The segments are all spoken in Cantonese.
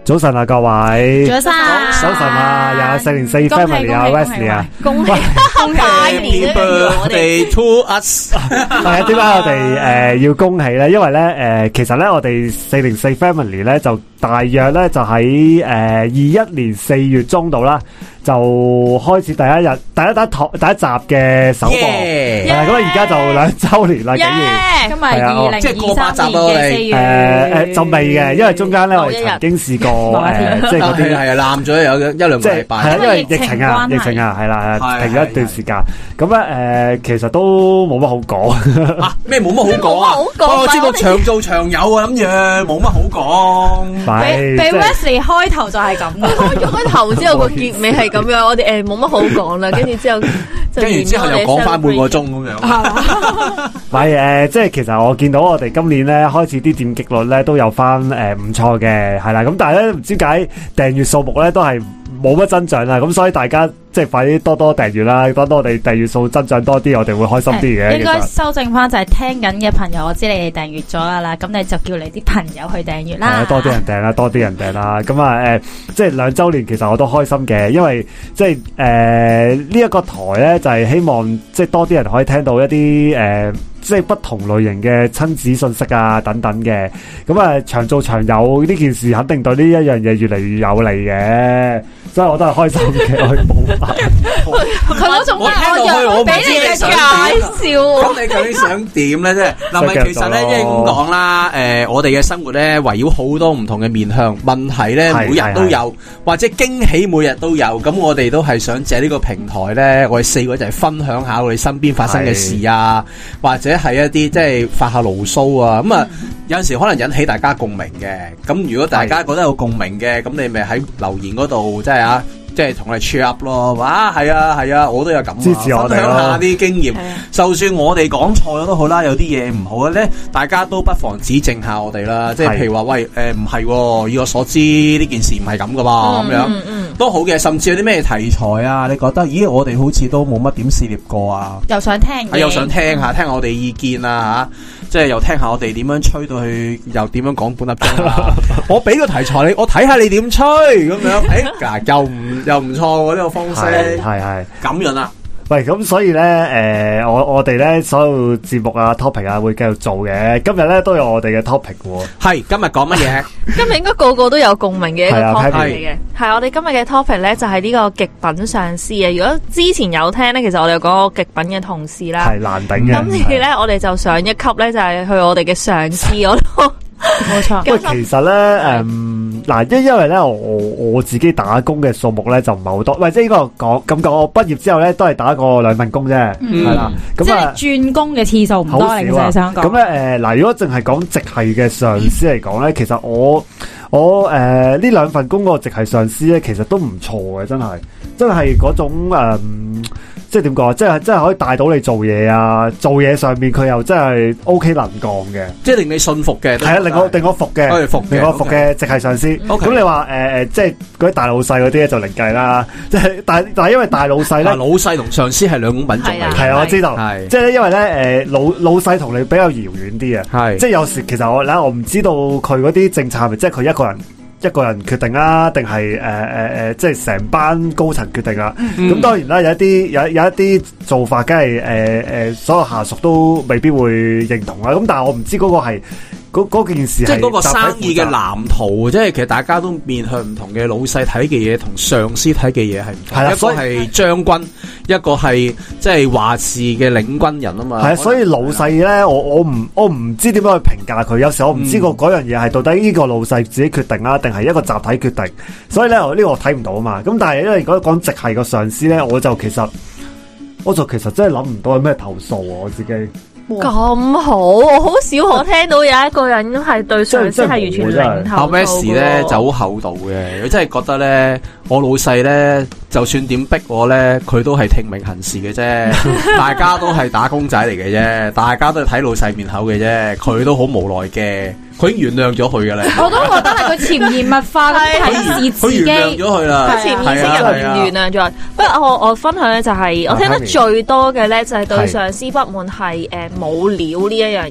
早晨啊，各位！ 早晨啊！又有404 family 啊 ，Wesley 啊， 恭喜拜年 ！Birthday to us！ 係啊，點解我哋要恭喜咧？因為咧其實咧我哋404 family 咧就大約咧就喺21年4月中度啦。就開始第一集嘅首播，咁而家就2週年啦，竟然今日即係過8集咯，你就未嘅，因為中間咧我哋曾經試過即係嗰啲係爛咗有1-2個禮拜， 係啊，因為疫情啊，係啦，停咗一段時間，咁咧其實都冇乜好講啊，咩冇乜好講啊？我知道長做長有啊，諗住冇乜好講， 俾 Wesley 開頭就係咁，開咗個頭之後個結尾係咁樣，我哋冇乜好講啦，跟住之後又講翻半個鐘咁樣。 係即係其實我見到我哋今年咧開始啲點擊率咧都有翻唔錯嘅，係啦，咁但係咧唔知點解訂閱數目咧都係冇乜增長啦，咁所以大家即係快啲多訂閱啦，多我哋訂閱數增長多啲，我哋會開心啲嘅。 應該修正翻就係聽緊嘅朋友，我知你哋訂閱咗啦，咁你就叫你啲朋友去訂閱啦。 多啲人訂啦，多啲人訂啦。咁啊即係2週年，其實我都開心嘅，因為即係呢一個台咧就係希望即係多啲人可以聽到一啲即係不同類型嘅親子信息啊等等嘅，咁啊長做長有呢件事肯定對呢一樣嘢越嚟越有利嘅，所以我都係開心嘅。我佢嗰種我俾你嘅介紹， 咁你究竟想點咧？即係嗱，其實咧即係咁講啦，我哋嘅生活咧圍繞好多唔同嘅面向，問題咧每日都有，或者驚喜每日都有，咁我哋都係想借呢個平台咧，我哋4個就係分享下我哋身邊發生嘅事啊，或者係一啲即係發下牢騷啊，咁啊有陣時可能引起大家共鳴嘅。咁如果大家覺得有共鳴嘅，咁你咪喺留言嗰度即係同我哋 cheer up 咯。哇，係啊，我都有咁支持我哋，分享下啲經驗。就算我哋講錯咗都好啦，有啲嘢唔好咧，大家都不妨指正下我哋啦。即係譬如話，喂，唔係，以我所知呢件事唔係咁噶嘛，咁樣都好嘅。甚至有啲咩題材啊，你覺得，咦，我哋好似都冇乜點涉獵過啊， 又想聽下，聽下我哋意見啊，即係又聽下我哋點樣吹到去，又點樣講半粒鐘啦。我俾個題材你，我睇下你點吹咁樣，又唔錯喎，呢個方式係咁樣啦。 喂，咁所以咧，我哋咧所有節目啊 topic 啊會繼續做嘅。今日咧都有我哋嘅 topic 喎。 係今日講乜嘢？ 今日應該個個都有共鳴嘅一個 topic 嚟嘅。係我哋今日嘅 topic 咧就係呢個極品上司啊。如果之前有聽咧，其實我哋有講過極品嘅同事啦， 係難頂嘅。 今次咧我哋就上一級咧，就係去我哋嘅上司嗰度。冇錯。 喂，其實咧，因為咧，我自己打工嘅數目咧就唔係好多，喂，即係呢個講，我畢業之後咧都係打過2份工啫，係啦，咁即係轉工嘅次數唔多，你真係想講。 咁咧，如果淨係講直系嘅上司嚟講咧，其實我呢2份工個直系上司咧，其實都唔錯嘅，真係嗰種即係點講？即係可以帶到你做嘢啊！做嘢上面佢又真係 OK 能幹嘅， 即係令你信服嘅。係啊， 令我服嘅，令我服嘅直系上司。咁你話即係嗰啲大老細嗰啲咧就另計啦。即係但係因為大老細咧， 老細同上司係兩種品種嚟。 係啊，我知道。即係因為咧老細同你比較遙遠啲啊。即係有時其實我唔知道佢嗰啲政策係咪即係佢一個人決定啦，定係即係成班高層決定啦。咁當然啦，有一啲做法，梗係所有下屬都未必會認同啦。咁但係我唔知嗰個係嗰件事係， 即係嗰個生意嘅藍圖，即係其實大家都面向唔同嘅老細睇嘅嘢，同上司睇嘅嘢係唔同。係啦，一個係將軍，一個係即係話事嘅領軍人啊嘛。係啊， 所以老細咧，我唔知點樣去評價佢。有時我唔知嗰樣嘢係到底呢個老細自己決定啦，定係一個集體決定。所以咧，呢個我睇唔到啊嘛。咁但係因為如果講直系個上司咧，我就其實真係諗唔到有咩投訴啊，我自己。 咁好，我好少可聽到有一個人係對上司係完全零投訴。阿 Wes 咧就好厚道嘅，佢真係覺得咧，我老細咧就算點逼我咧，佢都係聽命行事嘅啫。大家都係打工仔嚟嘅啫，大家都係睇老細面口嘅啫，佢都好無奈嘅。佢已經原諒咗佢噶啦， 我都覺得係佢潛移默化咁提示自己， 佢原諒咗佢啦， 佢潛意識入面原諒咗。不過我分享咧就係我聽得最多嘅咧就係對上司不滿係冇料呢一樣嘢。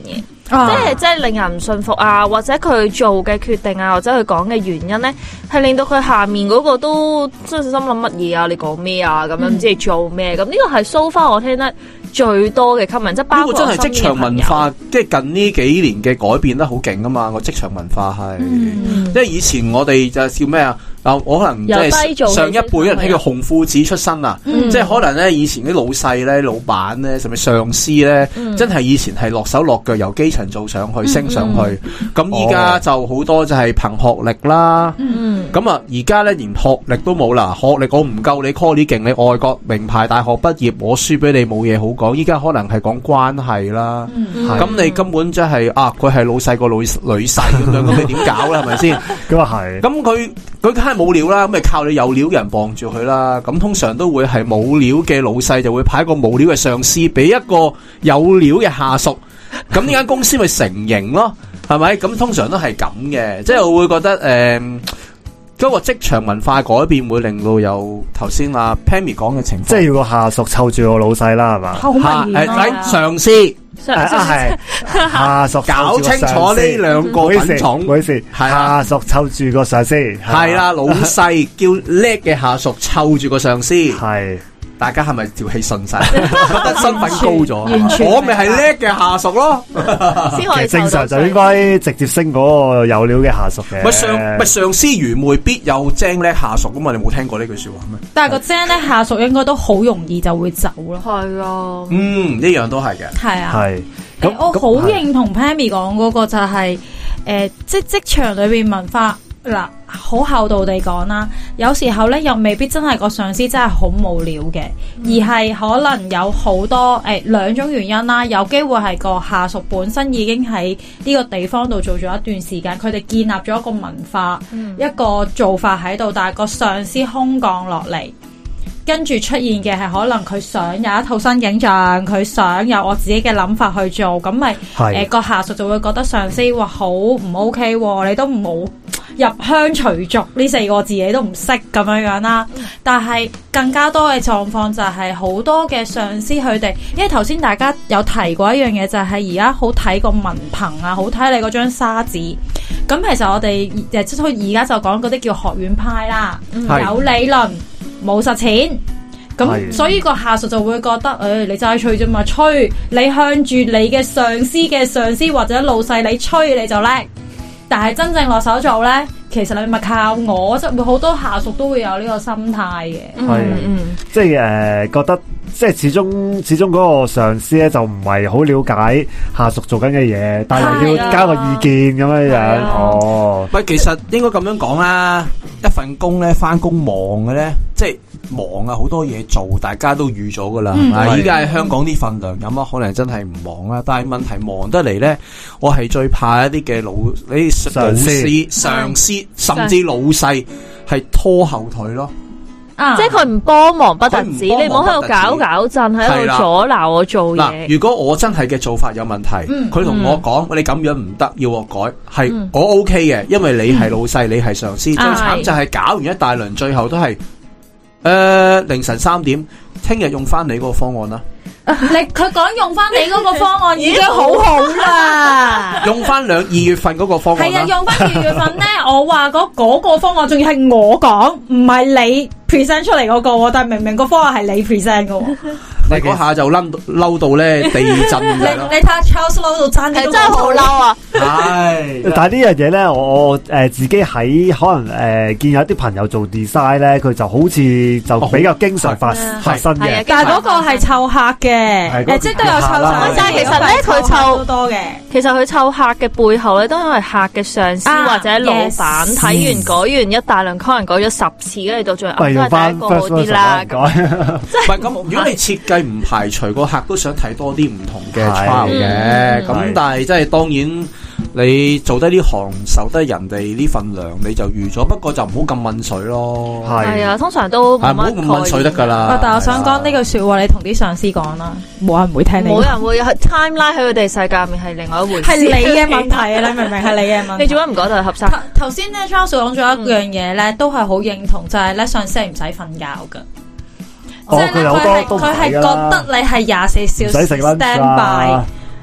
即係令人唔信服啊，或者佢做嘅決定啊，或者佢講嘅原因咧，係令到佢下面嗰個都真係心諗乜嘢啊？你講咩啊？咁樣唔知你做咩？咁呢個係 so far 我聽得最多嘅 comment， 即係包括真係職場文化，即係近呢幾年嘅改變得好勁啊嘛！個職場文化係，因為以前我哋就叫咩啊？我可能即係上一輩人喺個紅褲子出身啊，即係可能咧以前啲老細咧、老闆咧，甚至上司咧，真係以前係落手落腳由基層做上去、升上去。咁依家就好多就係憑學歷啦。咁啊，而家咧連學歷都冇啦，學歷我唔夠你 call 你勁，你外國名牌大學畢業，我輸俾你冇嘢好講。依家可能係講關係啦。咁你根本即係佢係老細個女婿咁樣，咁你點搞咧？係咪先？ 咁啊係。咁佢梗係冇料啦，咁咪靠你有料嘅人傍住佢啦。咁通常都會係冇料嘅老細就會派一個冇料嘅上司俾一個有料嘅下屬，咁呢間公司咪成型咯，係咪？咁通常都係咁嘅，即係我會覺得嗰個職場文化改變會令到有頭先阿 Pammy 講嘅情況， 即係要個下屬湊住個老細啦，係嘛？ 好明顯啊！ 上司。 係下屬搞清楚呢兩個品種， 唔好意思，下屬湊住個上司， 係啦，老細叫叻嘅下屬湊住個上司，係大家係咪條氣順晒？覺得身份高咗，我咪係叻嘅下屬咯。 其實正常就應該直接升嗰個有料嘅下屬嘅。 上司愚昧必有精叻下屬噶嘛？你冇聽過呢句說話咩？ 但係個精叻下屬應該都好容易就會走咯。 係啊， 呢樣都係嘅。 係啊， 係。 我好認同 Pammy 講嗰個就係即係職場裏邊文化嗱，好厚道地講啦，有時候咧又未必真係個上司真係好無聊嘅，而係可能有好多兩種原因啦。有機會係個下屬本身已經喺呢個地方度做咗一段時間，佢哋建立咗一個文化，一個做法喺度，但係個上司空降落嚟。跟住出現嘅係可能佢想有一套新景象，佢想有我自己嘅諗法去做，咁咪個下屬就會覺得上司話好唔 OK，你都冇入鄉隨俗呢4個字你都唔識咁樣啦。但係更加多嘅狀況就係好多嘅上司佢哋，因為頭先大家有提過一樣嘢，就係而家好睇個文憑啊，好睇你嗰張沙紙。咁其實我哋即係而家就講嗰啲叫學院派啦，有理論。冇實踐，咁所以個下屬就會覺得，你齋吹啫嘛，吹你向住你嘅上司嘅上司或者老細，你吹你就叻，但係真正落手做咧，其實你咪靠我，即係會好多下屬都會有呢個心態嘅。 即係覺得即係始終嗰個上司咧就唔係好了解下屬做緊嘅嘢，但係要加個意見咁樣樣。 喂，其實應該咁樣講啦，一份工咧翻工忙嘅咧，即係忙啊，好多嘢做，大家都預咗噶啦。依家喺香港啲份量有乜可能真係唔忙啦？但係問題忙得嚟咧，我係最怕一啲嘅上司甚至老細係拖後腿咯。 即係佢唔幫忙不特止，你唔好喺度搞震，喺度阻撓我做嘢。 如果我真係嘅做法有問題，佢同我講，你咁樣唔得，要我改，係我 OK 嘅，因為你係老細，你係上司。最慘就係搞完一大輪，最後都係凌晨3點，聽日用翻你嗰個方案啦。 佢講用翻你嗰個方案已經好好啦， 用翻2月份嗰個方案。係啊， 用翻2月份咧，我話嗰個方案仲要係我講，唔係你 present 出嚟嗰個，但係明明個方案係你 present 嘅。 你嗰下就嬲到咧地震咁樣咯。 你睇下 Charles 嬲到爭啲， 真係好嬲啊！ 係，但係呢樣嘢咧，我自己喺可能見有啲朋友做 design 咧，佢就好似就比較經常發生嘅。 但係嗰個係湊客嘅，即係都有湊客。 但係其實咧，佢湊好多嘅。其實佢湊客嘅背後咧，都因為客嘅上司或者老闆睇完改完一大輪，可能改咗10次，跟住到最後都係第一個好啲啦。 唔係咁，如果你設計唔排除個客都想睇多啲唔同嘅 trial 嘅，咁但係即係當然你做得呢行受得人哋呢份糧你就預咗，不過就唔好咁問水咯。 係啊，通常都唔好咁問水得噶啦。 但係我想講呢句說話，你同啲上司講啦，冇人會聽你。 冇人會 timeline 喺佢哋世界面係另外一回事。 係你嘅問題啊！你明唔明？係你嘅問題。 你做乜唔講就合適？ 頭先咧 Charles 講咗一樣嘢咧，都係好認同，就係咧上司係唔使瞓覺噶。即係佢係覺得你係24小時 stand by，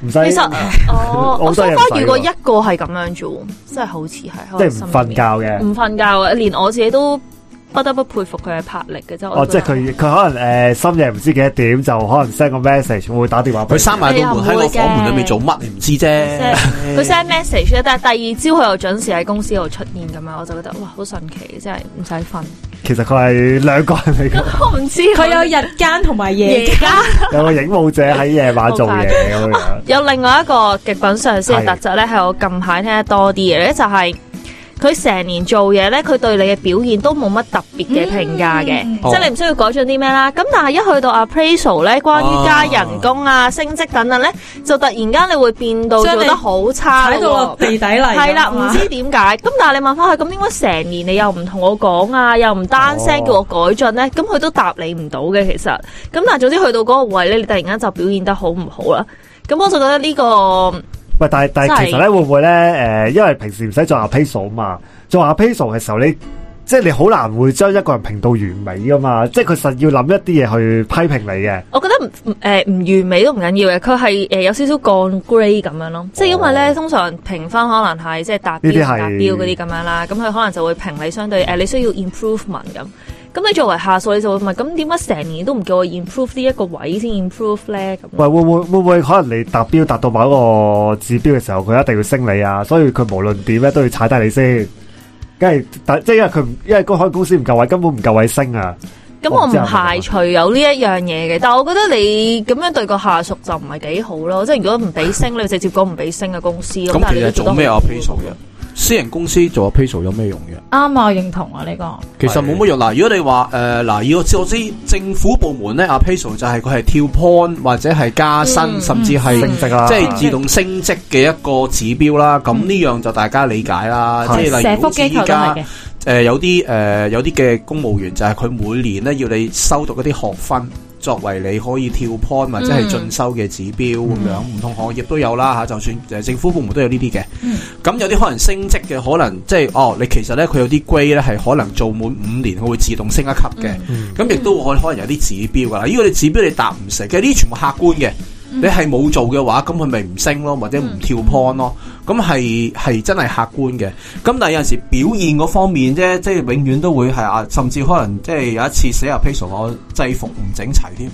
唔使。 其實我所花遇過一個係咁樣做，真係好似係， 即係唔瞓覺嘅， 唔瞓覺嘅，連我自己都不得不佩服佢嘅魄力嘅啫。 即係佢可能深夜唔知幾多點就可能 send 個 message， 會打電話俾佢閂埋道門喺個房門裏面做乜你唔知啫。 佢 send message 咧，但係第二朝佢又準時喺公司度出現咁樣，我就覺得哇好神奇，真係唔使瞓。 其實佢係兩個人嚟嘅， 我唔知佢有日間同埋夜間， 有個影舞者喺夜晚做嘢咁樣。 有另外一個極品上司嘅特質咧，係我近排聽得多啲嘅咧，就係佢成年做嘢咧，佢對你嘅表現都冇乜特別嘅評價嘅，即係你唔需要改進啲咩啦。咁但係一去到 appraisal 咧，關於加人工啊、升職等等咧，就突然間你會變到做得好差， 踩到落地底嚟。 係啦，唔知點解。咁但係你問翻佢，咁點解成年你又唔同我講啊，又唔單聲叫我改進咧？咁佢都答你唔到嘅，其實。咁但係總之去到嗰個位咧，你突然間就表現得好唔好啦。咁我就覺得呢個。 喂，但係其實咧會唔會咧？因為平時唔使做 appraisal 嘛，做 appraisal 嘅時候即係你好難會將一個人評到完美噶嘛，即係佢實要諗一啲嘢去批評你嘅。 我覺得唔完美都唔緊要嘅，佢係有少少降 grade 咁樣咯。即係因為咧，通常評分可能係即係達標嗰啲咁樣啦，咁佢可能就會評你相對你需要 improvement 咁。咁你作為下屬，你就會問：咁點解成年都唔叫我 improve 呢一個位先 improve 咧？咁喂，會唔會可能你達標達到某一個指標嘅時候，佢一定要升你啊？所以佢無論點咧都要踩低你先。梗係，即係因為嗰間公司唔夠位，根本唔夠位升啊！ 咁我唔排除有呢一樣嘢嘅，但係我覺得你咁樣對個下屬就唔係幾好咯。即係如果唔俾升，你直接講唔俾升嘅公司。 咁其實做咩 appraisal 嘅？私人公司做 appraisal 有咩用嘅？ 啱啊，我認同啊呢個。 其實冇乜用。嗱，如果你話如果我知政府部門咧 appraisal 就係佢係跳 point 或者係加薪，甚至係升職啦，即係自動升職嘅一個指標啦。咁呢樣就大家理解啦。即係例如好似依家有啲嘅公務員就係佢每年咧要你修讀一啲學分，作為你可以跳 point 或者係進修嘅指標咁樣，唔同行業都有啦嚇，就算政府部門都有呢啲嘅。咁有啲可能升職嘅，可能即係你其實咧佢有啲 grade 咧係可能做滿5年，佢會自動升一級嘅。咁亦都可能有啲指標噶啦。如果你指標你達唔成，其實呢啲全部客觀嘅。你係冇做嘅話，咁佢咪唔升咯，或者唔跳 point 咯。咁係真係客觀嘅。咁但係有陣時表現嗰方面啫，即係永遠都會係甚至可能即係有一次寫 appraisal 我制服唔整齊添。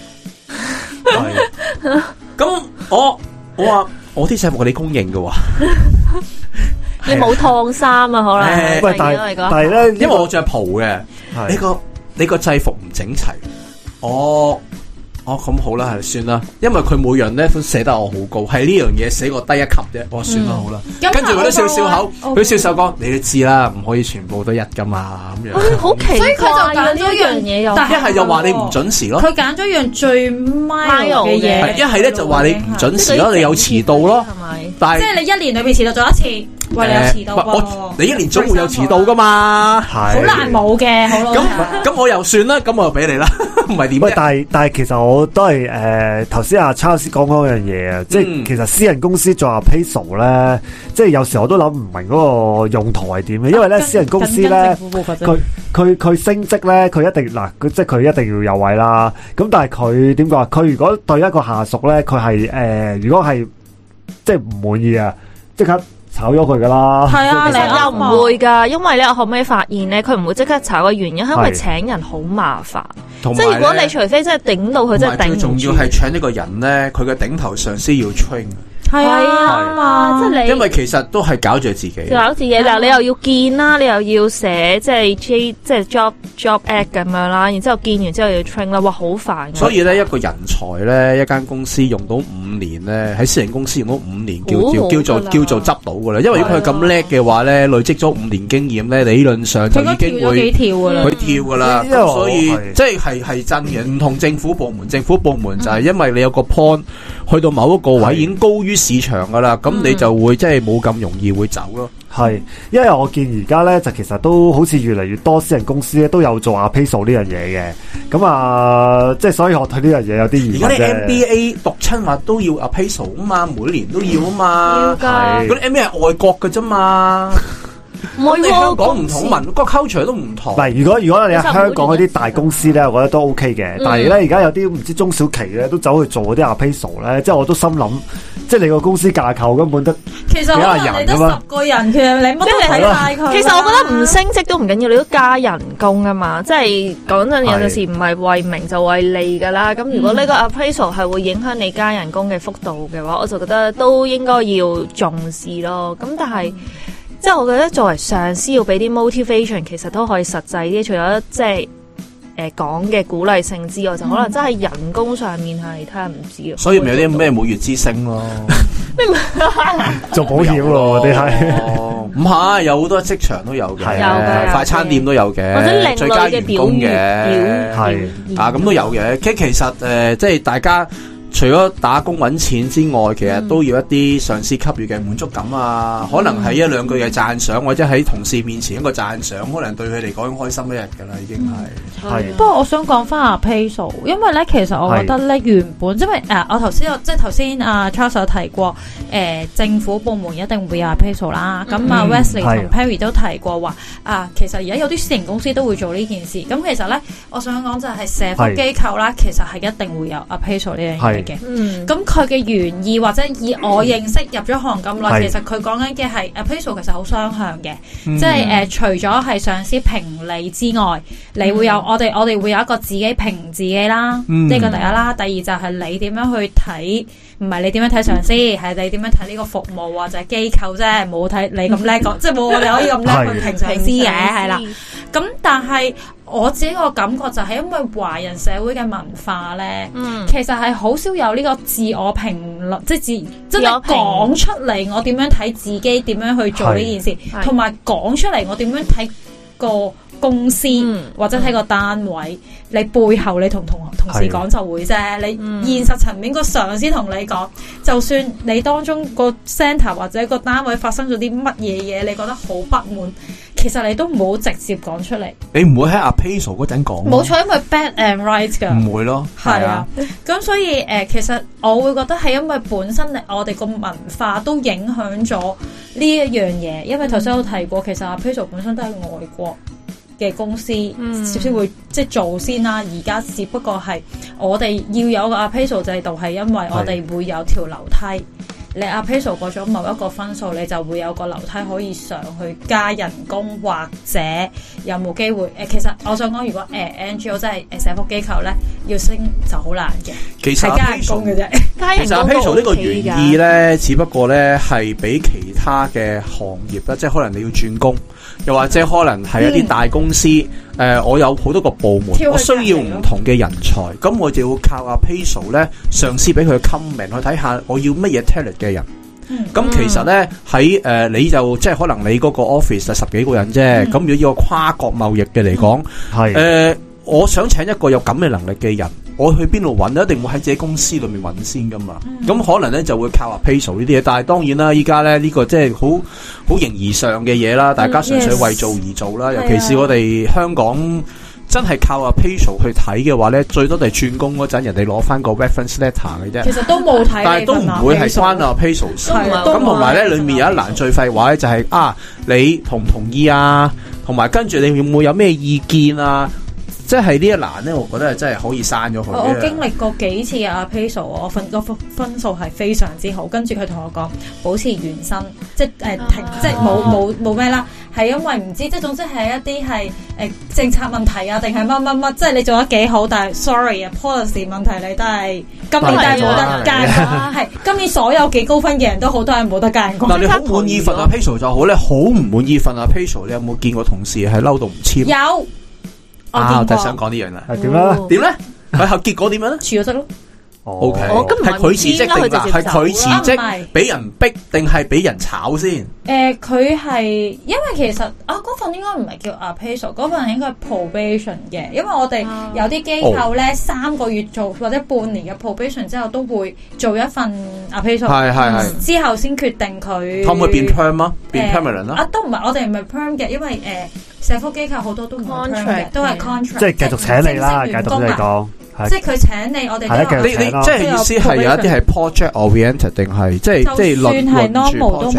咁我話我啲制服係你公認嘅喎。 你冇燙衫啊？可能喂，但係咧， 因為我着袍嘅，你個制服唔整齊，咁好啦，係算啦，因為佢每樣咧都寫得我好高，係呢樣嘢寫我低一級啫，我算啦好啦。跟住佢都笑笑口，佢笑笑講：你都知啦，唔可以全部都一噶嘛咁樣。 好奇怪，所以佢就揀咗一樣嘢，又一係就話你唔準時咯。 佢揀咗一樣最 minor 嘅嘢， 一係咧就話你唔準時咯，你有遲到咯，係咪？但係即係你一年裏邊遲到咗一次，喂，你有遲到你一年總會有遲到噶嘛， 好難冇嘅，好咯。 咁我又算啦，咁我又俾你啦，唔係點？ 喂，但係其實我都係頭先阿 Charles 講嗰樣嘢啊，即係其實私人公司做 appraisal 咧，即係有時我都諗唔明嗰個用途係點嘅，因為咧私人公司咧，佢升職咧，佢一定即係佢一定要有位啦。咁但係佢點講？佢如果對一個下屬咧，佢係如果係即係唔滿意啊，即刻炒咗佢噶啦。係啊，你又唔會噶，因為咧我後尾發現咧，佢唔會即刻炒嘅原因係因為請人好麻煩。即係如果你除非真係頂到佢，真係頂唔住。最重要係請呢個人咧，佢嘅頂頭上司要 train。 係啊，即係你， 因為其實都係搞住自己， 搞自己，但係你又要見啦，你又要寫即係 job act 咁樣啦，然之後見完之後要 train 啦，哇，好煩。 所以咧，一個人才咧，一間公司用到5年咧，喺私人公司用到5年，叫做執到噶啦。因為如果佢咁叻嘅話咧，累積咗5年經驗咧，理論上就已經會佢跳噶啦。所以即係真嘅，唔同政府部門，政府部門就係因為你有個 point 去到某一個位已經高於市場噶啦，咁你就會即係冇咁容易會走咯。 係，因為我見而家咧就其實都好似越嚟越多私人公司咧都有做appraisal呢樣嘢嘅，咁即係所以我對呢樣嘢有啲疑問啫。而家啲 MBA 讀親話都要 appraisal 啊嘛，每年都要啊嘛。要㗎。嗰啲 MBA 係外國㗎啫嘛。 唔係香港唔同文個 culture 都唔同。 唔係，如果你喺香港嗰啲大公司咧，我覺得都 OK 嘅。但係咧，而家有啲唔知中小企咧，都走去做嗰啲 appraisal 咧，即係我都心諗，即係你個公司架構根本得其實可能你得10個人，其實你乜都睇晒佢。 其實我覺得唔升職都唔緊要，你都加人工啊嘛。即係講真，有陣時唔係為名就為利噶啦。咁如果呢個 appraisal 係會影響你加人工嘅幅度嘅話，我就覺得都應該要重視咯。咁但係即係我覺得作為上司要俾啲 motivation， 其實都可以實際啲。除咗即係講嘅鼓勵性之外，就可能真係人工上面係睇下唔知。 所以咪有啲咩每月之星咯， 做保險咯，啲係唔係有好多職場都有嘅，快餐店都有嘅， 或者另最佳類嘅員工嘅係咁都有嘅。其實即係大家。除咗打工揾錢之外，其實都要一啲上司給予嘅滿足感啊，可能係一兩句嘅讚賞，或者喺同事面前一個讚賞，可能對佢嚟講開心一日噶啦，已經係。 不過我想講翻appraisal，因為咧其實我覺得咧原本因為我頭先阿 Charles 有提過，政府部門一定會有appraisal啦。咁Wesley 同 Perry 都提過話其實而家有啲私人公司都會做呢件事。咁其實咧，我想講就係社福機構啦，其實係一定會有appraisal呢樣嘢。咁佢嘅原意或者以我認識入咗行咁耐，其實佢講緊嘅係 appraisal 其實好雙向嘅，即係除咗係上司評你之外，你會有我哋會有一個自己評自己啦，呢個第一啦。第二就係你點樣去睇，唔係你點樣睇上司，係你點樣睇呢個服務或者機構啫，冇睇你咁叻講，即係冇我哋可以咁叻去評上司嘅，係啦。咁但係我自己個感覺就係因為華人社會嘅文化咧，其實係好少有呢個自我評論，即係真係講出嚟我點樣睇自己，點樣去做呢件事，同埋講出嚟我點樣睇個公司或者睇個單位，你背後你同事講就會啫。你現實層面個上司同你講，就算你當中個 centre 或者個單位發生咗啲乜嘢嘢，你覺得好不滿，其實你都唔好直接講出嚟。 你唔會喺 appraisal 嗰陣講。 冇錯，因為 bad and right 噶。唔會咯。 係啊。咁所以其實我會覺得係因為本身我哋個文化都影響咗呢一樣嘢。因為頭先有提過，其實 appraisal 本身都係外國嘅公司先會即係做先啦，而家只不過係我哋要有個 appraisal 制度，係因為我哋會有條樓梯，你 appraisal 過咗某一個分數，你就會有個樓梯可以上去加人工，或者有冇機會其實我想講，如果NGO 即係社福機構咧，要升就好難嘅， 其實係加人工嘅啫。 其實 appraisal 呢個原意咧，只不過咧係俾其他嘅行業啦，即係可能你要轉工，又或者可能係一啲大公司，我有好多個部門，我需要唔同嘅人才，咁我就要靠 appraisal 咧，上司俾佢 comment 去睇下我要乜嘢 talent 嘅人。咁其實咧喺你就即係可能你嗰個 office 係10幾個人啫，咁如果要個跨國貿易嘅嚟講，我想請一個有咁嘅能力嘅人，我去邊度揾？一定會喺自己公司裏面揾先噶嘛。咁可能咧就會靠 appraisal 呢啲嘢，但係當然啦，依家咧呢個即係好形而上嘅嘢啦，大家純粹為做而做啦。尤其是我哋香港真係靠 appraisal 去睇嘅話咧，最多就係轉工嗰陣人哋攞翻個 reference letter 嘅啫。 其實都冇睇， 但係都唔會係關 appraisal 事。咁同埋咧，裏面有一欄最廢話咧，就係你同唔同意啊？同埋跟住你會唔會有咩意見啊？即係呢一欄咧，我覺得係真係可以刪咗佢。 我經歷過幾次嘅 appraisal，我分數係非常之好。跟住佢同我講保持原薪，即係停，即係冇咩啦。係因為唔知，即係總之係一啲係政策問題啊，定係乜，即係你做得幾好，但係 sorry 啊 policy 問題你都係今年都係冇得加人。係今年所有幾高分嘅人都好多係冇得加人工。 嗱，你好滿意份 appraisal 就好咧，好唔滿意份 appraisal，你有冇見過同事係嬲到唔簽？ 有。 我就係想講呢樣啦， 係點咧？ 點咧？佢後結果點樣咧？ 辭咗職咯。 O K，係佢辭職定係佢辭職？俾人逼定係俾人炒先？ 佢係因為其實嗰份應該唔係叫 appraisal， 嗰份應該係 probation 嘅。因為我哋有啲機構咧3個月做或者半年嘅 probation 之後，都會做一份 appraisal， 係之後先決定佢可唔可以變 perm 啊？變 permanent 啊？ 都唔係，我哋唔係 perm 嘅，因為社福機構好多都唔係 perm 嘅，都係 contract， 即係繼續請你啦，繼續嚟講。 即係佢請你，我哋你即係意思係有一啲係 project oriented 定係即係就算係 normal 都唔係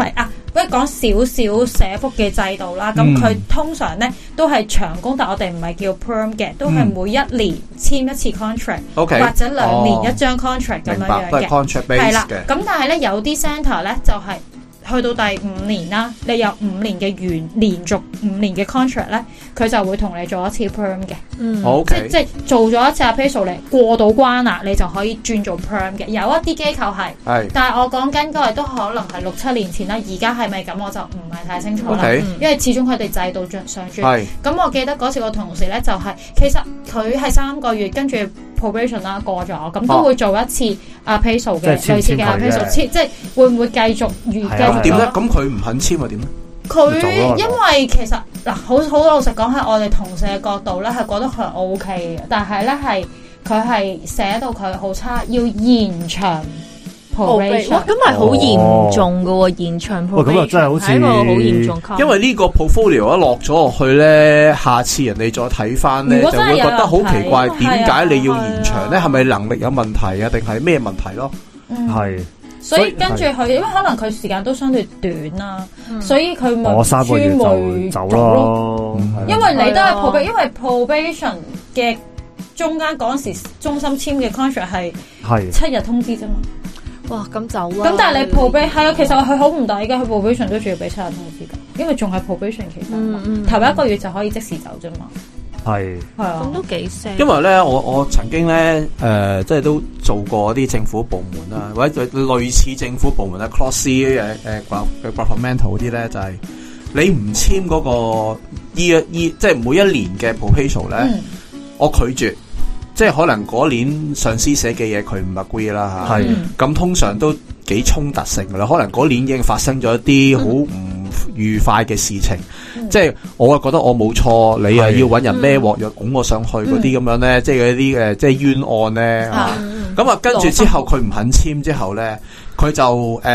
不如講少少社福嘅制度啦。咁佢通常咧都係長工，但我哋唔係叫 perm 嘅，都係每一年簽一次 contract，或者2年一張 contract 咁樣樣嘅。係啦，咁但係咧有啲 centre 咧就係去到第5年啦，你有5年嘅連續5年嘅 contract 咧，佢就會同你做一次 perm 嘅。即係做咗一次 appraisal 嚟過到關啦，你就可以轉做 perm 嘅。有一啲機構係，但係我講緊嗰個都可能係6-7年前啦。而家係咪咁我就唔係太清楚啦。因為始終佢哋制度上轉。咁我記得嗰次個同事咧就係，其實佢係3個月跟住 probation 啦過咗，咁都會做一次 appraisal 嘅，類似嘅 appraisal，即係會唔會繼續點咧？咁佢唔肯簽又點咧？ 佢因為其實嗱，好老實講，喺我哋同事嘅角度咧，係覺得佢 OK 嘅，但係咧佢係寫到佢好差，要延長 probation。 哇，咁係好嚴重噶喎，延長 probation。 咁又真係好似係一個好嚴重。 因為呢個 portfolio 一落咗落去咧，下次人哋再睇翻咧，就會覺得好奇怪，點解你要延長咧？係咪能力有問題啊？定係咩問題咯？ 係。 所以跟住佢，因為可能佢時間都相對短啦，所以佢咪 3個月就走咯。 因為你都係 probation，因為 probation 嘅中間嗰陣時，中心簽嘅 contract 係7日通知啫嘛。 哇，咁走啊！ 咁但係你 probation 係啊，其實佢好唔抵嘅，佢 probation 都仲要俾7日通知㗎，因為仲係 probation 期間，頭1個月就可以即時走啫嘛。 係啊， 咁都幾聲。 因為咧，我曾經咧，即係都做過啲政府部門啦，或者類似政府部門啦 ，cross 嘅governmental 嗰啲咧，就係你唔簽嗰個即係每一年嘅 proposal 咧，我拒絕。即係可能嗰年上司寫嘅嘢佢唔 agree 啦嚇，咁通常都幾衝突性噶啦。可能嗰年已經發生咗一啲好唔愉快嘅事情，即係我覺得我冇錯，你啊要揾人孭鑊藥拱我上去嗰啲咁樣咧，即係嗰啲即係冤案咧嚇。咁啊跟住之後佢唔肯簽之後咧，佢就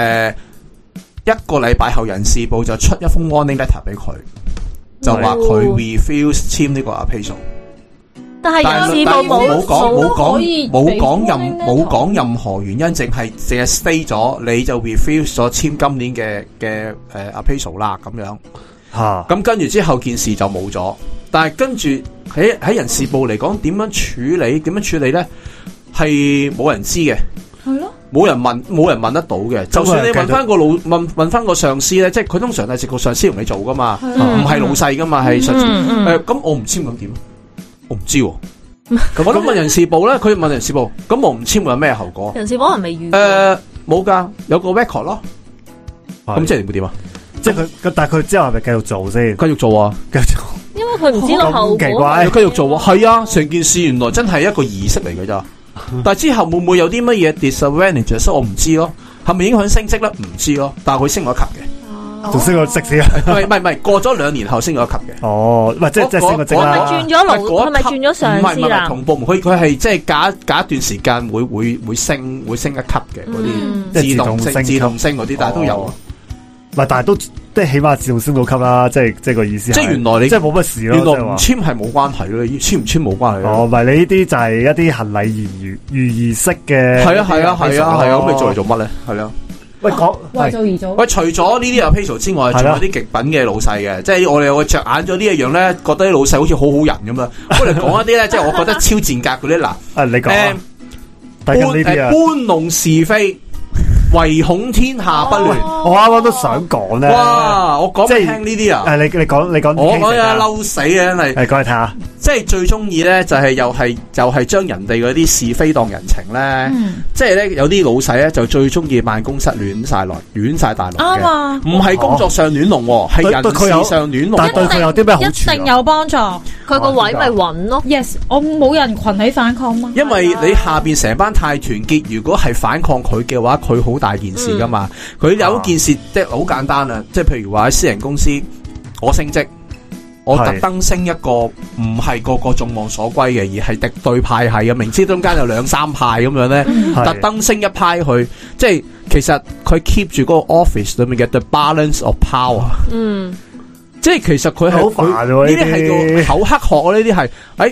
1個禮拜後人事部就出一封 warning letter 俾佢，就話佢 refuse 簽呢個 appraisal。 但係人事部冇講任何原因，淨係 stay 咗，你就 refuse 咗簽今年嘅appraisal 啦咁樣嚇。咁跟住之後件事就冇咗。但係跟住喺人事部嚟講，點樣處理咧？係冇人知嘅，係咯，冇人問得到嘅。就算你問翻個問翻個上司咧，即係佢通常係直個上司同你做噶嘛，唔係老細噶嘛，係上司。咁我唔簽咁點？我唔知喎，我都問人事部咧，佢問人事部，咁我唔簽會有咩後果？ 人事部係咪預？ 冇噶，有個 record 咯。咁即係會點啊？ 即係佢，但係佢之後係咪繼續做先？ 繼續做啊，繼續做。 因為佢唔知道後果。 奇怪， 要繼續做啊，係啊，成件事原來真係一個儀式嚟嘅咋。但係之後會唔會有啲乜嘢 disadvantage？所以我唔知咯。係咪影響升職咧？唔知咯。但係佢升咗級嘅。仲升咗職先啊？唔係，過咗2年後升咗級嘅。 哦，唔係即係升咗職啦。 係咪轉咗勞？係咪轉咗上司啦？ 唔係同部門，佢係即係隔一段時間會升一級嘅嗰啲自動升嗰啲，但係都有。 唔係，但係都即係起碼自動升到級啦。即係個意思。即係原來你即係冇乜事咯。 原來唔簽係冇關係咯，簽唔簽冇關係。 哦，唔係你呢啲就係一啲行禮如儀式嘅。 係啊，咁你做嚟做乜咧？係啊。 為做而做。 喂，除咗呢啲 appraisal 之外，仲有啲極品嘅老細嘅，即係我哋會着眼咗呢一樣咧，覺得啲老細好似好好人咁樣。我哋講一啲咧，即係我覺得超賤格嗰啲嗱。 你講搬弄是非，唯恐天下不亂。 我啱啱都想講咧。 哇！我講俾你聽呢啲啊。 你講。 我講啊，嬲死啊，真係。 講嚟睇下。即係最中意咧，就係又係將人哋嗰啲是非當人情咧。即係咧，有啲老細咧就最中意辦公室亂晒大龍嘅。唔係工作上亂龍，係人事上亂龍。 但對佢有啲咩好處？ 一定有幫助。 佢個位咪穩咯。 Yes， 我冇人群起反抗嘛。 因為你下邊成班太團結，如果係反抗佢嘅話，佢好大件事噶嘛。佢有件事即係好簡單啊，即係譬如話喺私人公司，我升職。我特登升一個唔係個個眾望所歸嘅，而係敵對派系嘅，明知中間有2-3派咁樣咧，特登升一派去，即係其實佢 keep 住嗰個 office 裏面嘅 the balance of power。即係其實佢係好煩呢啲係叫口黑學啊！呢啲係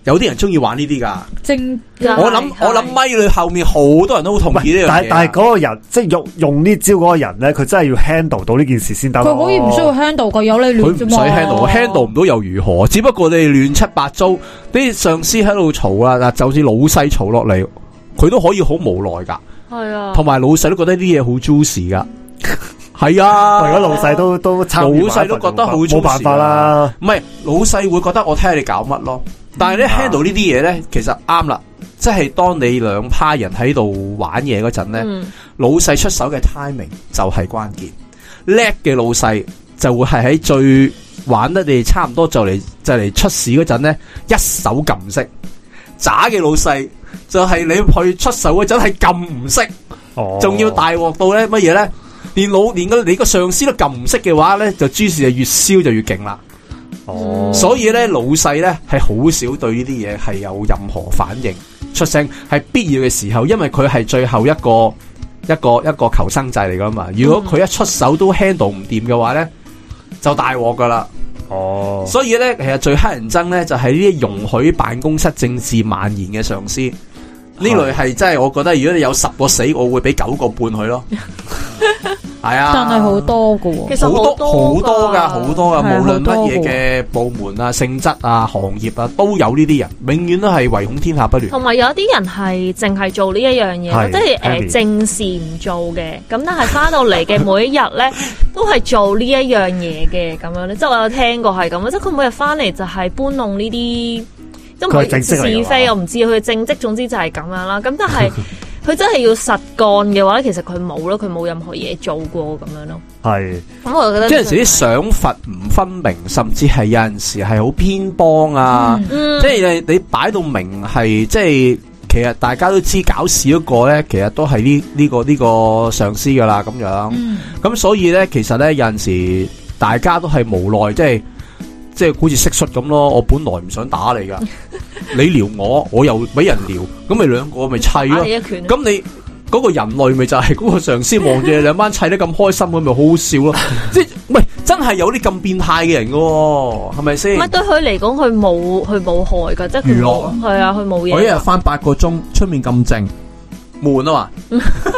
有啲人中意玩呢啲噶。 我諗咪裏後面好多人都好同意呢樣嘢。 但係嗰個人即係用呢招嗰個人咧，佢真係要 handle 到呢件事先得。 佢可以唔需要 handle 個，有你亂啫嘛。 佢唔使 handle 唔到又如何？只不過你亂七八糟，啲上司喺度嘈啦，嗱，就算老細嘈落嚟，佢都可以好無奈噶。係啊，同埋老細都覺得啲嘢好 juicy 噶。係啊， 如果老細都參與， 老細都覺得好冇辦法啦。 唔係老細會覺得我睇下你搞乜咯。但係咧 handle 呢啲嘢咧，其實啱啦，即係當你兩派人喺度玩嘢嗰陣咧，老細出手嘅 timing 就係關鍵。叻嘅老細就會係喺最玩得你差唔多就嚟出事嗰陣咧，一手撳熄。渣嘅老細就係你去出手嗰陣係撳唔熄，仲要大鑊到咧乜嘢咧？連你個上司都撳唔熄嘅話咧，就諸事就越燒就越勁啦。所以咧老細咧係好少對呢啲嘢係有任何反應出聲，係必要嘅時候，因為佢係最後一個求生制嚟噶嘛。如果佢一出手都 handle 唔掂嘅話咧，就大鑊噶啦。所以咧其實最乞人憎咧就係呢啲容許辦公室政治蔓延嘅上司，呢類係真係我覺得，如果你有10個死，我會俾9個半佢咯。係啊， 但係好多噶， 其實好多噶，無論乜嘢嘅部門啊、性質啊、行業啊，都有呢啲人，永遠都係唯恐天下不亂。 同埋有啲人係淨係做呢一樣嘢，即係正事唔做嘅，咁但係翻到嚟嘅每一日咧，都係做呢一樣嘢嘅咁樣咧。即係我有聽過係咁，即係佢每日翻嚟就係搬弄呢啲，即係是非，我唔知佢正職，總之就係咁樣啦。咁但係。佢真係要實幹嘅話咧，其實佢冇咯，佢冇任何嘢做過咁樣咯。係，咁我覺得有陣時啲賞罰唔分明，甚至係有陣時係好偏幫啊。即係你擺到明係，即係其實大家都知搞事嗰個咧，其實都係呢個上司噶啦咁樣。咁所以咧，其實咧有陣時大家都係無奈，即係好似蟋蟀咁咯。我本來唔想打你噶。你撩我，我又俾人撩，咁咪兩個咪砌咯。咁你嗰個人類咪就係嗰個上司望住你兩班砌得咁開心，咁咪好好笑咯。即係唔係真係有啲咁變態嘅人噶，係咪先？唔係對佢嚟講，佢冇害噶，即係佢冇係啊，佢冇嘢。我一日翻8個鐘，出面咁靜，悶啊嘛。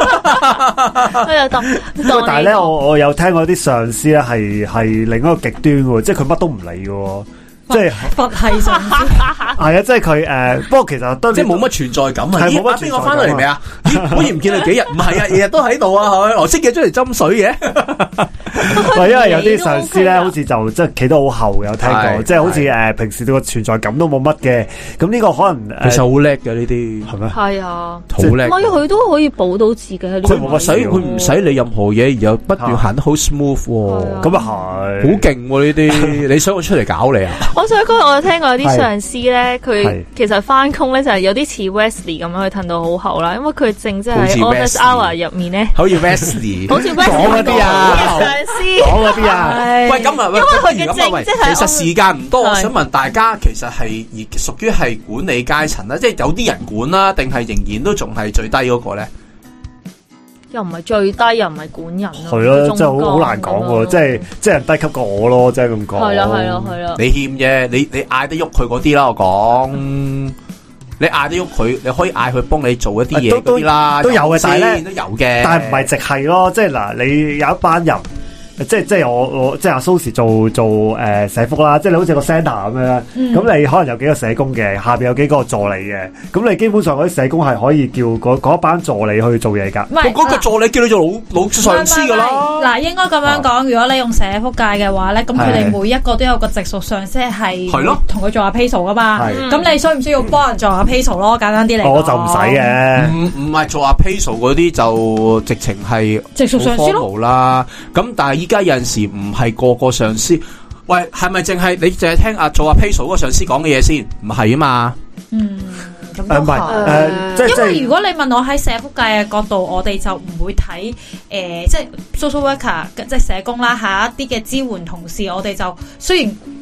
但係咧，我有聽過啲上司咧係另一個極端嘅，即係佢乜都唔理嘅。即係佛系上司，係啊！即係佢不過其實都即係冇乜存在感啊！咦，邊個翻到嚟未啊？好似唔見佢幾日，唔係啊，日日都喺度啊！係咪？我識嘅出嚟斟水嘅，係因為有啲上司咧，好似就即係企得好後嘅，有聽過，即係好似平時對個存在感都冇乜嘅。咁呢個可能其實好叻嘅呢啲，係咩？係啊，好叻。所以佢都可以保到自己喺呢個。佢唔使理任何嘢，然後不斷行得好 smooth，咁啊係，好勁喎呢啲！你想我出嚟搞你啊？我想講，我有聽過有啲上司咧，佢其實翻工咧就係有啲似 Wesley 咁樣去褪到好後啦，因為佢正即係 office hour 入面咧，好似 Wesley，好似 Wesley 嗰啲啊，上司講嗰啲啊，喂咁啊，因為佢嘅正即係其實時間唔多，我想問大家，其實係屬於係管理階層啦，即係有啲人管啦，定係仍然都仲係最低嗰個咧？又唔係最低，又唔係管人咯。係咯，真係好難講喎。即係人低級過我咯，即係咁講。係啦。你欠啫，你嗌得喐佢嗰啲啦，我講。你嗌得喐佢，你可以嗌佢幫你做一啲嘢嗰啲啦，都有嘅，但係咧都有嘅。但係唔係直係咯，即係嗱，你有一班人。即係我即係阿蘇時做社福啦，即係你好似個 centre 咁樣，咁你可能有幾個社工嘅，下邊有幾個助理嘅，咁你基本上嗰啲社工係可以叫嗰班助理去做嘢噶。唔係嗰個助理叫你做老上司噶啦。嗱，應該咁樣講，如果你用社福界嘅話咧，咁佢哋每一個都有個直屬上司係同佢做下 payroll 噶嘛。咁你需唔需要幫人做下 payroll 咯？簡單啲嚟講，我就唔使嘅。唔係做下 payroll 嗰啲就直情係直屬上司咯啦。咁但係依家有陣時唔係個個上司，喂，係咪淨係你淨係聽做阿 Payso 嗰個上司講嘅嘢先？唔係啊嘛。咁唔係因為如果你問我喺社福界嘅角度，我哋就唔會睇即係 social worker 即係社工啦，下一啲嘅支援同事，我哋就雖然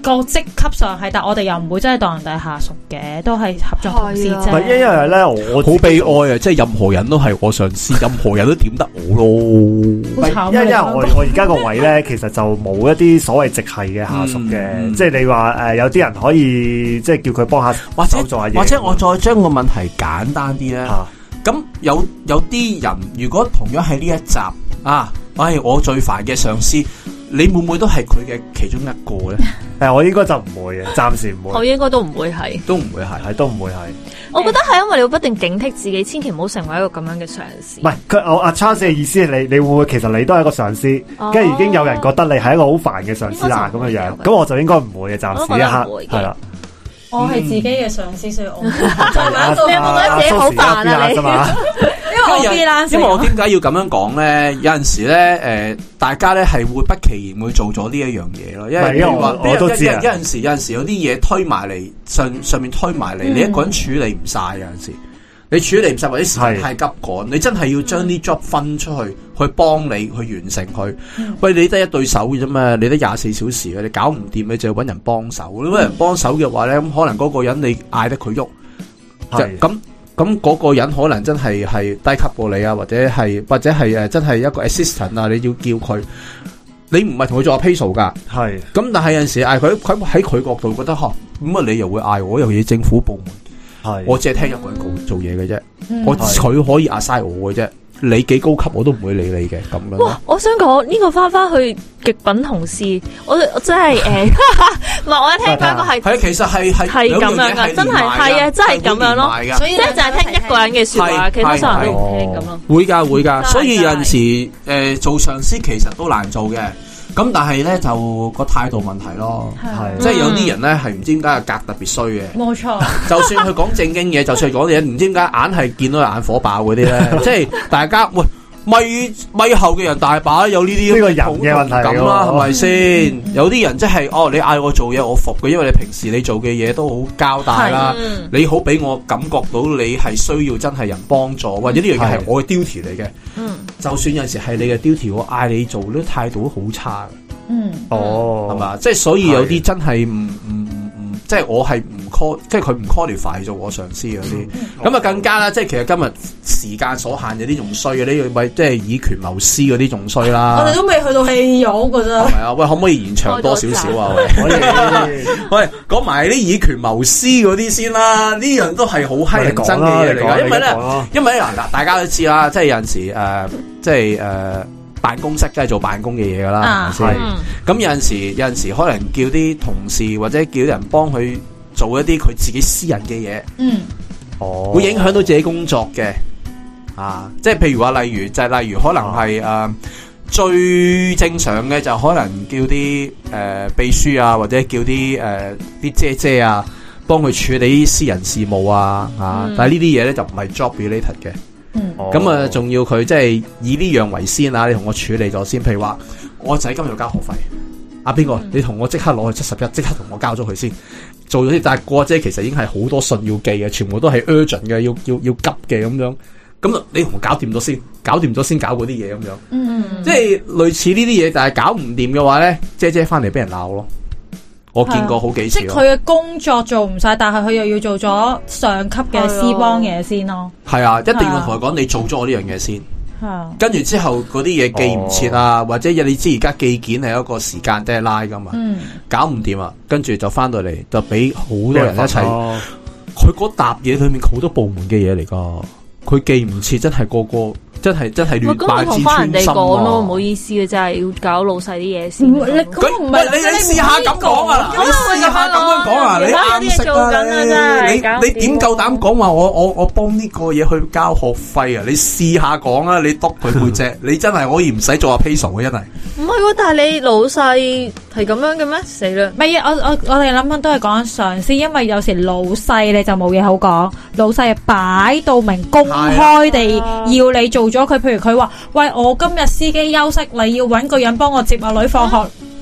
個職級上係，但我哋又唔會真係當人哋係下屬嘅，都係合作同事啫。 唔係因為咧，我好悲哀啊！即係任何人都係我上司，任何人都點得我咯。 好慘， 因為我而家個位咧，其實就冇一啲所謂直系嘅下屬嘅，即係你話有啲人可以即係叫佢幫下手做下嘢， 或者我再將個問題簡單啲咧。咁有啲人如果同樣喺呢一集啊，我最煩嘅上司。你會唔會都係佢嘅其中一個咧？ 我應該就唔會嘅，暫時唔會。 我應該都唔會係， 都唔會係， 都唔會係。 我覺得係因為你會不斷警惕自己，千祈唔好成為一個咁樣嘅上司。 唔係佢，阿 Charles 嘅意思係你會唔會其實你都係一個上司，跟住已經有人覺得你係一個好煩嘅上司啦咁嘅樣，咁我就應該唔會嘅，暫時一刻係啦。 我係自己嘅上司，所以我你有冇覺得自己好煩啊？你因為我點解要咁樣講咧？有陣時咧，大家咧係會不其然會做咗呢一樣嘢咯。因為我都知有陣時有啲嘢推埋嚟上面推埋嚟，你一個人處理唔晒。有陣時你處理唔晒或者時間太急趕，你真係要將啲 job 分出去幫你去完成佢。喂，你得一對手嘅啫嘛，你得24小時嘅，你搞唔掂你就要搵人幫手。你搵人幫手嘅話咧，咁可能嗰個人你嗌得佢喐，咁嗰個人可能真係低級過你啊，或者係真係一個 assistant 啊，你要叫佢，你唔係同佢做 appraisal 噶，係。咁但係有陣時嗌佢喺佢角度覺得咁啊，你又會嗌我，尤其是政府部門，係，我只係聽一個人做嘢嘅啫，佢可以 assign 我嘅啫。你幾高級我都唔會理你嘅咁樣。 哇！我想講呢個翻去極品同事，我真係唔係我一聽翻個係其實係咁樣噶，真係真係咁樣咯。所以咧就係聽一個人嘅說話，其他所有人都唔聽咁咯。 會噶，所以有陣時做上司其實都難做嘅。咁但係咧就個態度問題咯，即係有啲人咧係唔知點解格特別衰嘅， 冇錯。 就算佢講正經嘢，就算係講嘢，唔知點解硬係見到佢眼火爆嗰啲咧，即係大家喂咪後嘅人大把有呢啲呢個人嘅問題咁啦，係咪先？有啲人即係你嗌我做嘢我服嘅，因為你平時你做嘅嘢都好交代啦，你好俾我感覺到你係需要真係人幫助，或者呢樣嘢係我嘅 duty 嚟嘅。就算有陣時係你嘅 duty，我嗌你做，呢態度都好差嘅。係嘛？即係所以有啲真係唔即係我係唔 call， 即係佢唔 qualify 做我上司嗰啲。咁啊更加啦，即係其實今日時間所限，有啲仲衰嘅，呢個咪即係以權謀私嗰啲仲衰啦。 我哋都未去到戲肉噶咋。 係啊，喂，可唔可以延長多少少啊？喂，講埋啲以權謀私嗰啲先啦，呢樣都係好乞人憎嘅嘢嚟噶。因為咧嗱，大家都知啦，即係有陣時辦公室梗係做辦公嘅嘢噶啦，係咪先？咁有陣時可能叫啲同事或者叫啲人幫佢做一啲佢自己私人嘅嘢，會影響到自己工作嘅。即係譬如話，例如可能係最正常嘅就可能叫啲秘書啊，或者叫啲姐姐啊幫佢處理啲私人事務啊，但係呢啲嘢咧就唔係 job related 嘅。咁啊，仲要佢即係以呢樣為先啊！你同我處理咗先，譬如話我仔今日要交學費，邊個？你同我即刻攞去71，即刻同我交咗佢先，做咗啲。但係個姐其實已經係好多信要寄嘅，全部都係 urgent 嘅，要急嘅咁樣。咁你同我搞掂咗先，搞掂咗先搞嗰啲嘢咁樣。即係類似呢啲嘢，但係搞唔掂嘅話咧，姐翻嚟俾人鬧咯。我見過好幾次， 即係佢嘅工作做唔晒，但係佢又要做咗上級嘅私幫嘢先咯。 係啊，一定要同佢講，你做咗我呢樣嘢先。跟住之後嗰啲嘢寄唔切啊，或者你知而家寄件係一個時間 deadline 噶嘛，搞唔掂啊，跟住就翻到嚟就俾好多人一齊。佢嗰沓嘢裏面好多部門嘅嘢嚟噶，佢寄唔切，真係個個。真係亂敗自尊心咯， 唔好意思嘅，真係要搞老細啲嘢先。 佢唔係你試下咁講啊！你試下咁樣講啊！你啱識啊！你點夠膽講話我幫呢個嘢去交學費啊？你試下講啊！你督佢背脊，你真係可以唔使做阿 Peso 嘅，真係。 唔係喎，但係你老細係咁樣嘅咩？死啦！ 唔係我哋諗緊都係講上司，因為有時老細你就冇嘢好講，老細係擺到明公開地要你做咗佢，譬如佢話喂，我今日司機休息，你要搵個人幫我接阿女放學，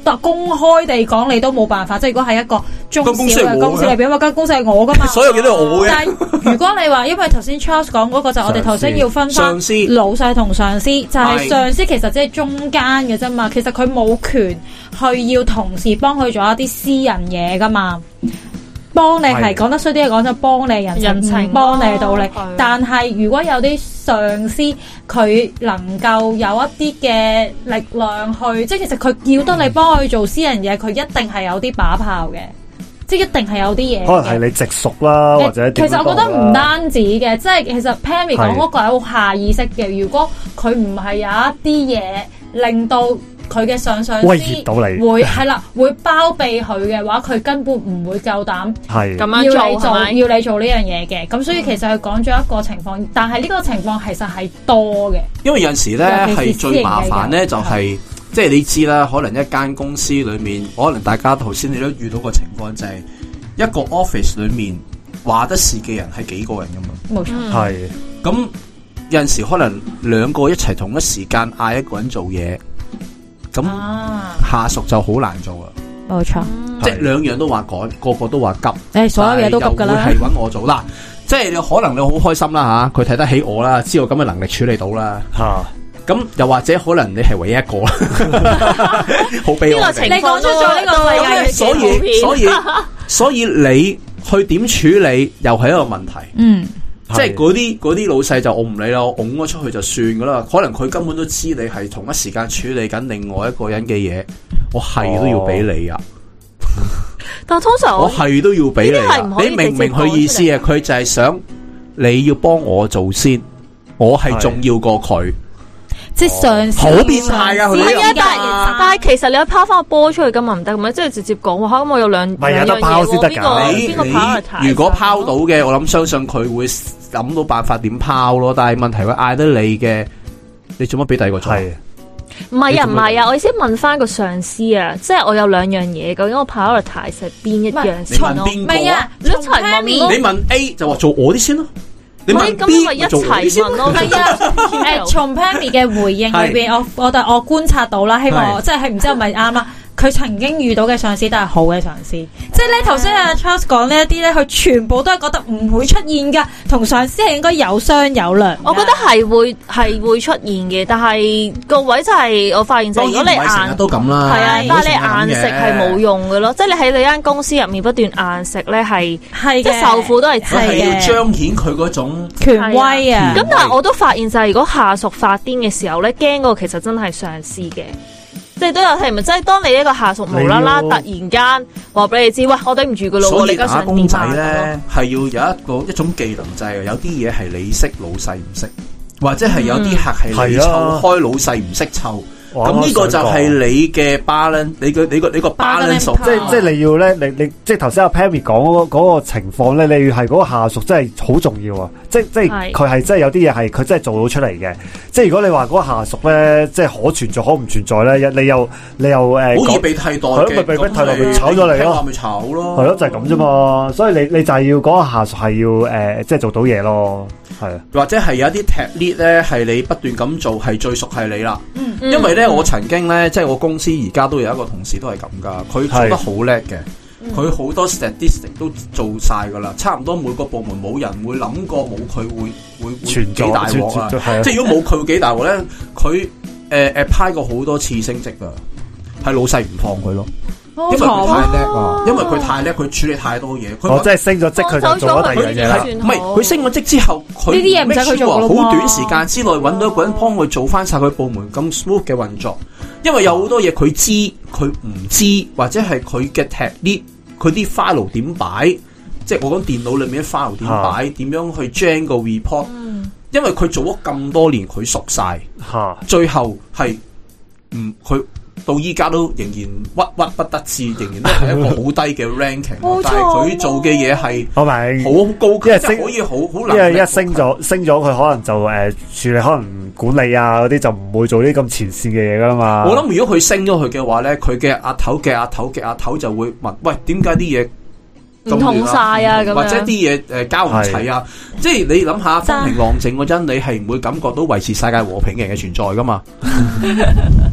公開地講，你都冇辦法。即係如果係一個中小嘅公司嚟，因為間公司係我噶嘛， 所有嘢都係我嘅。 但係如果你話，因為頭先 Charles 講嗰個就我哋頭先要分翻老細同上司，就係上司其實即係中間嘅啫嘛。其實佢冇權去要同事幫佢做一啲私人嘢噶嘛。幫你係講得衰啲，講就幫你人情，幫你道理。但係如果有啲上司佢能夠有一啲嘅力量去，即係其實佢要得你幫佢做私人嘢，佢一定係有啲把炮嘅，即係一定係有啲嘢。可能係你直屬啦，或者其實我覺得唔單止嘅，即係其實 Pammy 講嗰個係好下意識嘅。如果佢唔係有一啲嘢令到佢嘅上司威脅到你， 會係啦，會包庇佢嘅話，佢根本唔會夠膽咁樣做， 要你做呢樣嘢嘅。咁所以其實佢講咗一個情況，但係呢個情況其實係多嘅。 因為有陣時咧係最麻煩咧，就係即係你知啦，可能一間公司裏面，可能大家頭先你都遇到個情況，就係一個 office 裏面話得事嘅人係幾個人噶嘛。 冇錯， 係咁有陣時可能兩個一齊同一時間嗌一個人做嘢。咁下屬就好難做啊！ 冇錯， 即係兩樣都話趕，個個都話急， 所有嘢都急噶啦。 係揾我做啦，即係你可能你好開心啦吓，佢睇得起我啦，知道咁嘅能力處理到啦吓。咁又或者可能你係唯一一個啦，好悲哀。 你講出咗呢個世界， 所以你去點處理又係一個問題。即係嗰啲老細就我唔理啦，我拱咗出去就算噶啦。可能佢根本都知你係同一時間處理緊另外一個人嘅嘢，我係都要俾你啊！ 但係通常我係都要俾你啊！你明唔明佢意思啊？佢就係想你要幫我做先，我係重要過佢。 即係上司好變態噶，佢但係其實你要拋翻個波出去咁唔得，咁即係直接講話，咁我有兩樣嘢，邊個如果拋到嘅，我諗相信佢會諗到辦法點拋咯。但係問題佢嗌得你嘅，你做乜俾第二個做？ 唔係啊！我意思問翻個上司啊，即係我有兩樣嘢，究竟我 prioritize 係邊一樣先咯？ 唔係啊，你一齊問， 你問 A 就話做我啲先咯。你問 B 咪一齊問咯？ 係啊，從 Pammy 嘅回應裏邊，我觀察到啦，希望即係唔知係咪啱啦。佢曾經遇到嘅上司都係好嘅上司，即係咧頭先阿 Charles 講呢一啲咧，佢全部都係覺得唔會出現噶，同上司係應該有商有量。 我覺得係會出現嘅，但係個位就係我發現就係如果你硬都咁啦， 係啊，但係你硬食係冇用嘅咯，即係你喺你間公司入面不斷硬食咧係即係受苦都係係要彰顯佢嗰種權威啊。 咁但係我都發現就係如果下屬發癲嘅時候咧，驚嗰個其實真係上司嘅。即係都有係咪？即係當你一個下屬無啦啦突然間話俾你知，喂，我頂唔住噶咯。 所以打工仔咧係要有一種技能，就係有啲嘢係你識老細唔識，或者係有啲客係你湊開老細唔識湊。咁呢個就係你嘅 balance，你個 balance， 即係你要咧，你即係頭先阿 Pammy 講嗰個情況咧，你要係嗰個下屬真係好重要啊！即係佢係真係有啲嘢係佢真係做到出嚟嘅。即係如果你話嗰個下屬咧，即係可存在可唔存在咧，你又好易被替代嘅， 咪被替代咪炒咗你咯， 咪炒咯， 係咯，就係咁啫嘛。所以你就係要嗰個下屬係要即係做到嘢咯，係啊， 或者係有一啲 tech lead 咧，係你不斷咁做，係最熟係你啦，因為咧。我曾經咧，即係我公司而家都有一個同事都係咁噶，佢做得好叻嘅，佢好多 statistic 都做晒噶啦，差唔多每個部門冇人會諗過冇佢會幾大鑊啊！即係如果冇佢會幾大鑊咧，佢派過好多次升職噶，係老細唔放佢咯。因為佢太叻啊！因為佢太叻，佢處理太多嘢。我真係升咗職，佢就做咗第二樣嘢。 唔係佢升咗職之後，佢呢啲嘢唔使佢做咯。 好短時間之內揾到一個人幫佢做翻晒佢部門咁 smooth 嘅運作。因為有好多嘢佢知，佢唔知，或者係佢嘅 technique，佢啲 file 點擺，即係我講電腦裏面啲 file 點擺，點樣去 gen 個 report。因為佢做咗咁多年，佢熟晒，最後係佢。到依家都仍然屈屈不得志，仍然都係一個好低嘅 ranking，但係佢做嘅嘢係好高級，即係可以好難。 因為一升咗，佢可能就處理可能管理啊嗰啲就唔會做啲咁前線嘅嘢噶啦嘛。 我諗如果佢升咗佢嘅話咧，佢嘅阿頭就會問：喂，點解啲嘢唔同晒啊？咁或者啲嘢交唔齊啊？即係你諗下風平浪靜嗰陣，你係唔會感覺到維持世界和平嘅人嘅存在噶嘛？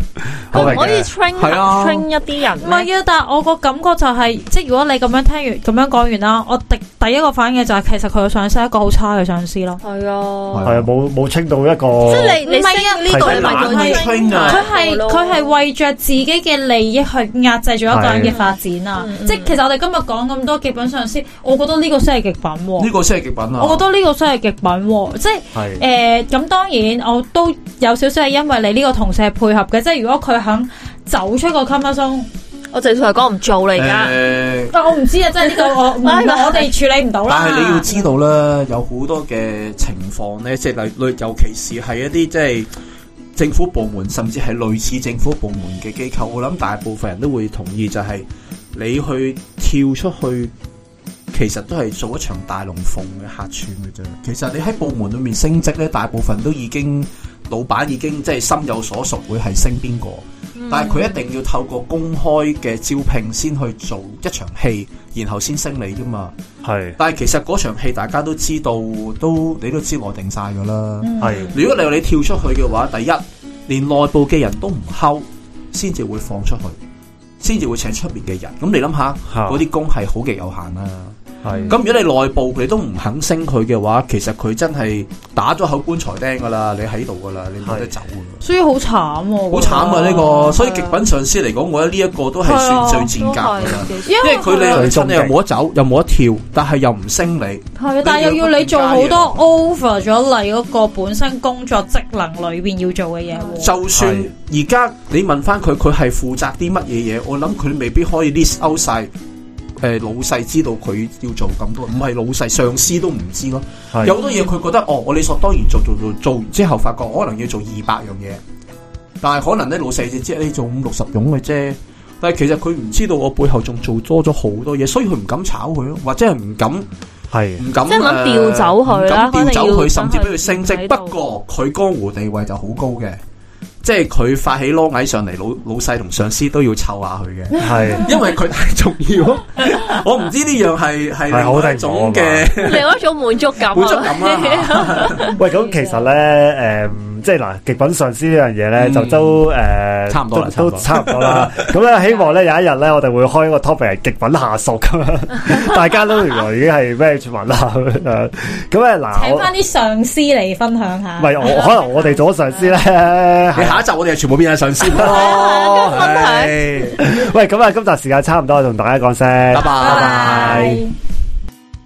可唔可以 train 一啲人？ 唔係啊，但係我個感覺就係，即係如果你咁樣聽完咁樣講完啦，我第一個反應就係，其實佢個上司係一個好差嘅上司咯。 係啊， 係啊，冇 train 到一個。 即係你唔係啊？呢個係 train 啊！ 佢係為着自己嘅利益去壓制咗一個人嘅發展啊！即係其實我哋今日講咁多極品上司，我覺得呢個先係極品喎。呢個先係極品啊！ 我覺得呢個先係極品喎，即係咁當然我都有少少係因為你呢個同事係配合嘅，即係如果佢肯走出個 comfort zone， 我直頭係講唔做嚟㗎。 但我唔知啊，即係呢個我哋處理唔到啦。 但係你要知道啦，有好多嘅情況咧，即係尤其是係一啲即係政府部門，甚至係類似政府部門嘅機構，我諗大部分人都會同意，就係你去跳出去，其實都係做一場大龍鳳嘅客串嘅啫。其實你喺部門裏面升職咧，大部分都已經老闆已經即係心有所屬，會係升邊個。但係佢一定要透過公開嘅招聘先去做一場戲，然後先升你啫嘛。係，但係其實嗰場戲大家都知道，你都知內定晒噶啦。係，如果你話你跳出去嘅話，第一連內部嘅人都唔溝，先至會放出去，先至會請出面嘅人。咁你諗下，嗰啲工係好極有限啦。係，咁如果你內部你都唔肯升佢嘅話，其實佢真係打咗口棺材釘噶啦，你喺度噶啦，你冇得走噶啦。 所以好慘喎， 好慘啊呢個。所以極品上司嚟講，我覺得呢一個都係算最賤格噶啦，因為佢你又冇得走，又冇得跳，但係又唔升你。係， 但係又要你做好多 over 咗你嗰個本身工作職能裏邊要做嘅嘢。 就算而家你問翻佢，佢係負責啲乜嘢嘢？我諗佢未必可以 list out 晒。老細知道佢要做咁多，唔係老細，上司都唔知咯。有好多嘢佢覺得我理所當然做完之後，發覺可能要做200樣嘢，但係可能咧老細就知你做50-60樣嘅啫。但係其實佢唔知道我背後仲做多咗好多嘢，所以佢唔敢炒佢咯，或者係唔敢唔敢即係諗調走佢啦，調走佢，甚至俾佢升職。不過佢江湖地位就好高嘅。即係佢發起攞矮上嚟，老細同上司都要湊下佢嘅，係因為佢太重要。我唔知呢樣係另外一種嘅， 另外一種滿足感。 喂，咁其實咧，即係嗱，極品上司呢樣嘢咧，就都差唔多啦， 都差唔多啦。咁咧，希望咧有一日咧，我哋會開一個 topic 係極品下屬咁樣，大家都原來已經係咩傳聞啦咁樣。咁咧嗱， 請翻啲上司嚟分享下。 唔係我可能我哋做咗上司咧， 下一集我哋係全部變晒上司咯。 喂，咁啊，今集時間差唔多，同大家講聲， 拜拜。